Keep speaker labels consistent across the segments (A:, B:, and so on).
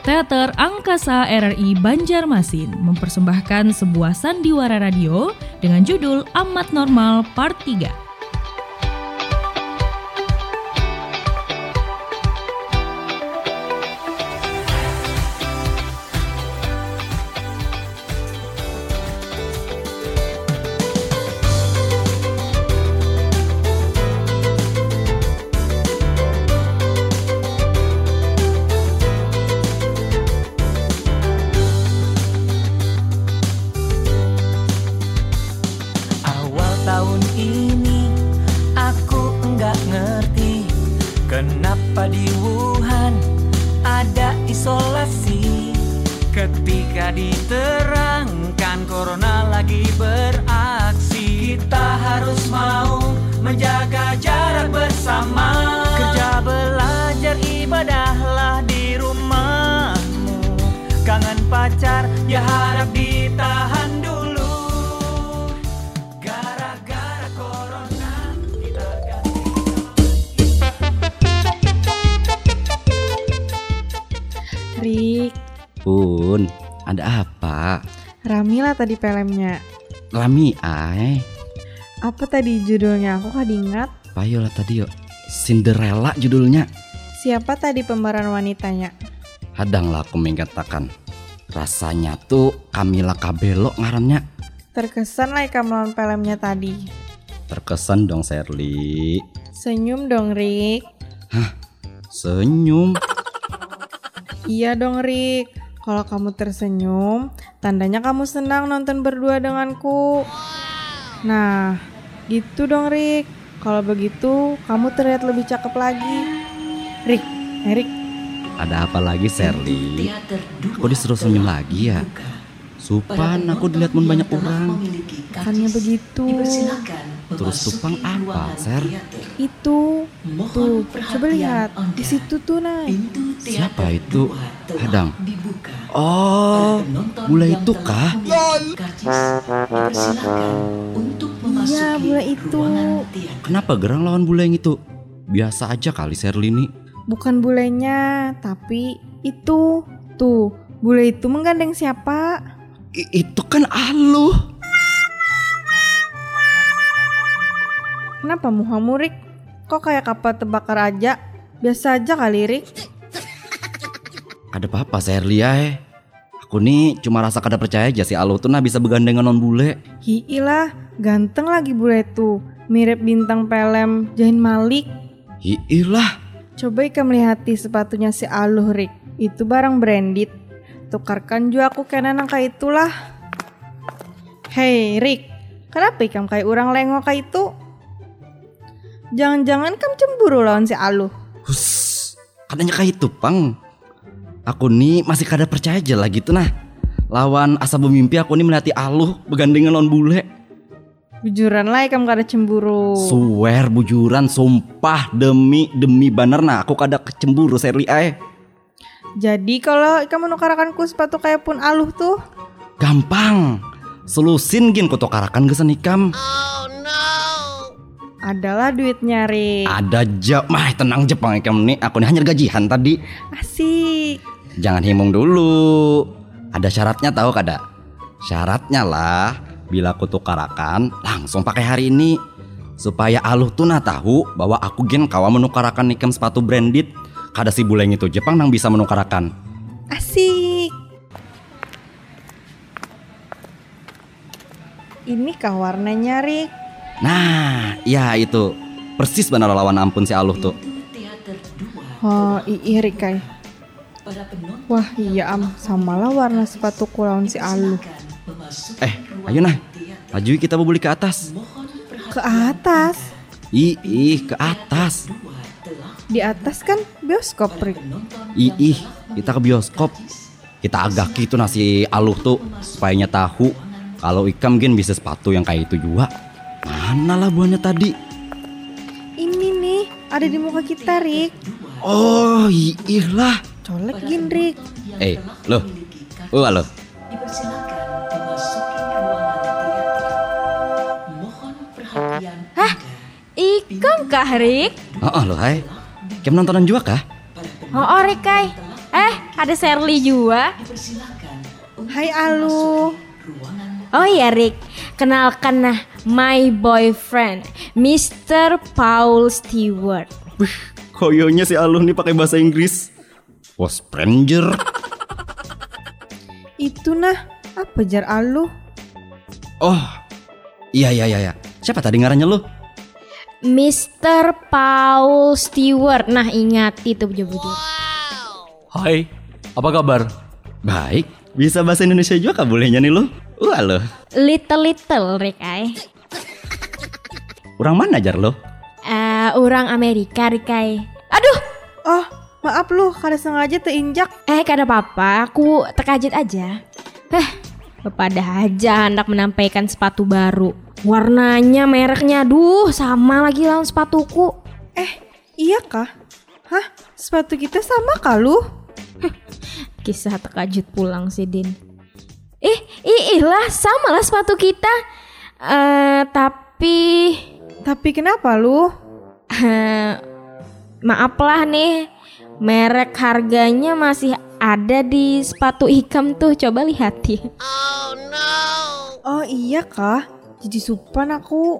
A: Teater Angkasa RRI Banjarmasin mempersembahkan sebuah sandiwara radio dengan judul Amat Normal Part 3.
B: Tahun ini aku enggak ngerti kenapa di Wuhan ada isolasi. Ketika diterangkan corona lagi beraksi, kita harus mau menjaga jarak bersama. Kerja, belajar, ibadahlah di rumahmu. Kangen pacar ya harap ditahan dulu.
C: Rik,
D: Bun, ada apa?
C: rame lah tadi filmnya.
D: Rami ay.
C: Apa tadi judulnya? Aku kan ingat.
D: Payolah tadi yuk. Cinderella judulnya.
C: Siapa tadi pemeran wanitanya?
D: Hadanglah aku mengatakan. Rasanya tuh Camila Cabello ngarannya.
C: Terkesan lah kamu nonton filmnya tadi.
D: Terkesan dong Sherly.
C: Senyum dong Rik.
D: Senyum.
C: Iya dong Rik. Kalau kamu tersenyum, tandanya kamu senang nonton berdua denganku. Nah, gitu dong Rik. Kalau begitu, kamu terlihat lebih cakep lagi. Rik, Rik.
D: Ada apa lagi Sherly? Kok disuruh senyum lagi ya? Supan aku dilihat banyak orang.
C: Bukannya begitu.
D: Terus tupang apa, Ser?
C: Itu. Tuh, coba lihat. Di situ tuh, nah.
D: Siapa itu? Hadang. Oh, bule itu kah?
C: Iya, bule itu.
D: Kenapa gerang lawan bule yang itu? Biasa aja kali Sherly ini.
C: Bukan bulenya, tapi itu. Tuh, bule itu menggandeng siapa?
D: Itu kan Aluh.
C: Kenapa muhamu Rik? Kok kayak kapal terbakar aja? Biasa aja kali Rik.
D: Ada apa-apa Sherly ya? Aku nih cuma rasa kada percaya aja si Aluh tuh bisa begandengan non bule.
C: Hiilah, ganteng lagi bule tuh. Mirip bintang film Zayn Malik.
D: Hiilah.
C: Coba Ika melihati sepatunya si Aluh Rik. Itu barang branded. Tukarkan juga aku kena nangka itulah. Hei Rik, kenapa ikam kayak orang lengok kayak itu? Jangan-jangan kamu cemburu lawan si Aluh.
D: Hus, katanya kayak itu pang. Aku nih masih kada percaya aja lah gitu nah. Lawan asa bermimpi aku nih melihati Aluh begandengan lawan bule.
C: Bujuran lah ikam kada cemburu.
D: Swear bujuran, sumpah demi bener nah aku kada kecemburu Sherly ay.
C: Jadi kalau ikam menukarakanku sepatu kayak pun Aluh tuh?
D: Gampang. Selusin gin ku tukarakan gesan ikam.
C: Adalah duitnya Rik.
D: Ada aja, mah tenang Jepang ikam nih. Aku nih hanya gajian tadi.
C: Asik.
D: Jangan himung dulu. Ada syaratnya tahu kada? Syaratnya lah, bila aku tukarakan langsung pakai hari ini. Supaya Aluh tuh tahu bahwa aku gen kawa menukarakan ikam sepatu branded. Kada si buleng itu Jepang nang bisa menukarakan.
C: Asik. Ini kah warnanya Rik?
D: Nah, ya itu. Persis benar lawan ampun si Aluh tuh.
C: Oh iya Rik kai. Wah iya samalah warna sepatu lawan si Aluh.
D: Ayo nah. Maju kita beli ke atas.
C: Ke atas?
D: Ke atas.
C: Di atas kan bioskop Rik.
D: Kita ke bioskop. Kita agak gitu nasi Aluh tuh supaya tahu kalau ikam gen bisa sepatu yang kayak itu juga. Mana lah buahnya tadi?
C: Ini nih ada di muka kita Rik.
D: Oh lah.
C: Colek gin Rik.
D: Loh. Halo.
E: Hah? Ikam kah Rik?
D: Loh hai. Kem nontonan juga kah?
E: Oh Rik kai.
F: ada Shirley juga.
E: Dipersilakan untuk
C: Hai Alu.
E: ruangan.
F: Oh iya Rick, kenalkan nah my boyfriend, Mr. Paul Stewart.
D: Wih, koyonya si Aluh nih pakai bahasa Inggris. Oh, stranger.
C: Itu nah, apa jar Alu?
D: Oh, iya. Siapa tadi ngarannya lu?
F: Mr. Paul Stewart. Nah ingat itu bujur-bujur.
G: Hai, apa kabar?
D: Baik, bisa bahasa Indonesia juga kah bolehnya nih lu? Loh,
F: Little Rick ay.
D: orang mana jar lo?
F: Orang Amerika Rick ay. Aduh,
C: Oh, maaf lu, kada sengaja teinjak.
F: kada apa-apa, aku terkaget aja. Pada aja hendak menampaikan sepatu baru. Warnanya, mereknya, aduh sama lagi lawan sepatuku.
C: Iya kah? Hah? Sepatu kita sama kah lu?
F: Kisah terkajut pulang sih Din. Lah sama lah sepatu kita. Tapi
C: kenapa lu?
F: maaf lah nih, merek harganya masih ada di sepatu Ikam tuh, coba lihat ya.
C: Oh iya kah? Jadi supan aku.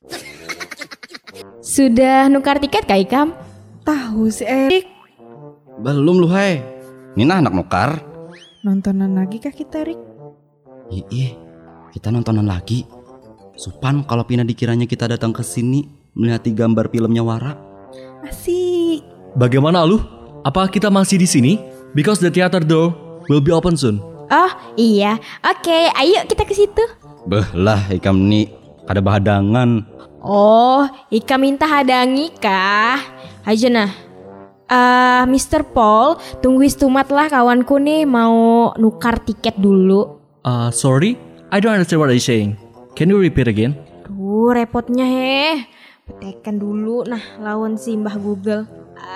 F: Sudah nukar tiket kah Ikam?
C: Tahu si Erik.
D: Belum lu hai. Nina anak nukar.
C: Nontonan lagi kah kita Rik?
D: Iya, kita nontonan lagi. Supan kalau Pina dikiranya kita datang ke sini melihat gambar filmnya Wara.
C: Asik.
G: Bagaimana Aluh? Apa kita masih di sini? Because the theater door will be open soon.
F: Oh iya, oke, ayo kita ke situ.
D: Lah, ikam nih ada bahadangan.
F: Oh, Ika minta hadangi kah? Aja nah. Mr. Paul, tunggu istumat lah kawanku nih mau nukar tiket dulu.
G: Sorry, I don't understand what you're saying. Can you repeat again?
F: Duh, repotnya petekan dulu nah lawan si Mbah Google.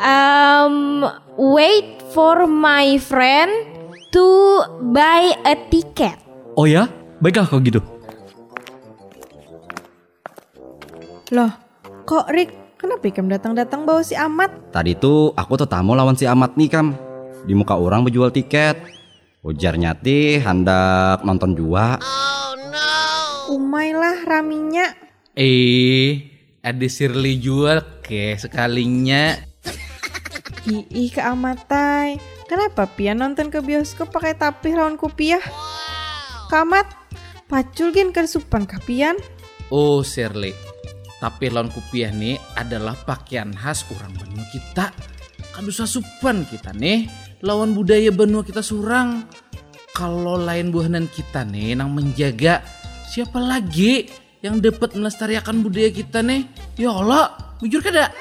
F: Wait for my friend to buy a ticket.
G: Oh ya? Baiklah kalau gitu.
C: Loh, kok Rik? Kenapa Ikam datang-datang bawa si Amat?
D: Tadi tuh aku tamu lawan si Amat nih Kam. Di muka orang berjual tiket. Ujarnya ti hendak nonton juga.
C: Umay lah raminya.
H: Ada Shirley jual ke sekalinya.
C: Ih keamatai. Kenapa Pian nonton ke bioskop pakai tapih lawan kupiah? Kamat, pacul gin ke supan kapian.
H: Oh Shirley, tapi lawan kupiah nih adalah pakaian khas orang benua kita. Kadusa supan kita nih lawan budaya benua kita surang. Kalau lain buahanan kita nih nang menjaga, siapa lagi yang dapat melestarikan budaya kita nih? Ya Allah, bujur kada?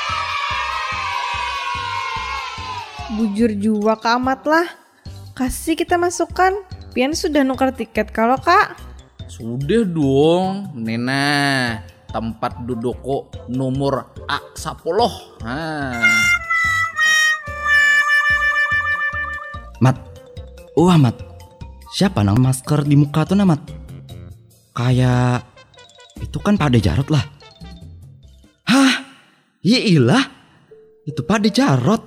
C: Bujur jua ke Amat lah. Kasih kita masukkan. Pian sudah nukar tiket kalau kak.
H: Sudah dong, Nena. Tempat duduk nomor A10.
D: Mat. Mat. Siapa nang masker di muka tuh Mat? Kayak itu kan Pak De Jarot lah. Hah? Iyalah. Itu Pak De Jarot.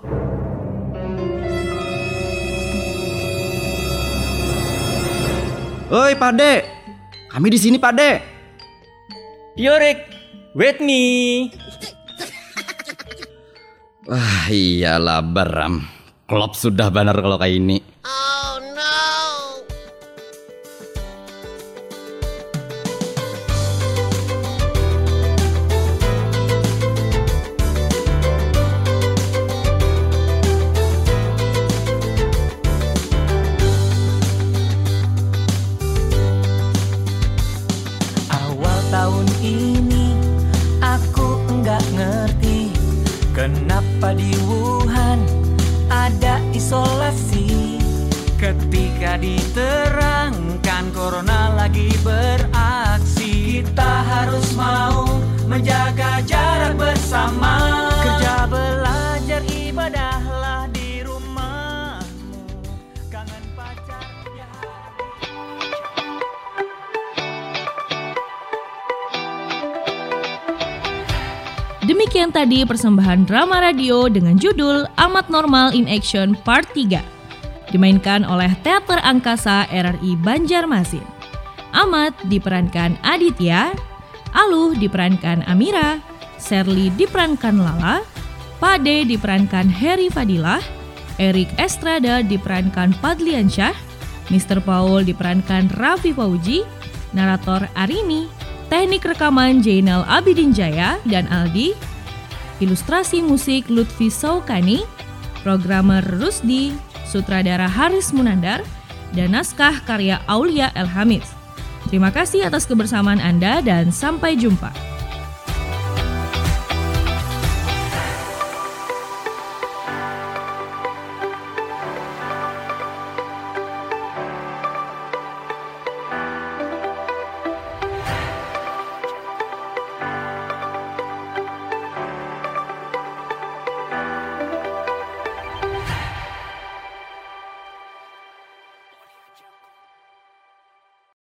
D: Oi Pak De. Kami di sini Pak De.
I: Yorik, wait me.
D: Wah iyalah Baram. Klop sudah benar kalau kayak ini.
B: Tahun ini aku enggak ngerti kenapa di Wuhan ada isolasi. Ketika diterangkan corona lagi beraksi, kita harus mau menjaga jarak bersama. Kerja belajar ibadahlah di rumahmu. Kangen pacar ya.
A: Demikian tadi persembahan drama radio dengan judul Amat Normal in Action Part 3. dimainkan oleh Teater Angkasa RRI Banjarmasin. Ahmad diperankan Aditya, Aluh diperankan Amira, Sherly diperankan Lala, Pade diperankan Heri Fadilah, Erik Estrada diperankan Padliansyah, Mr. Paul diperankan Raffi Fauji, narator Arini, teknik rekaman Jainal Abidin Jaya dan Aldi, ilustrasi musik Lutfi Saukani, programmer Rusdi, sutradara Haris Munandar, dan naskah karya Aulia Elhamis. Terima kasih atas kebersamaan Anda dan sampai jumpa.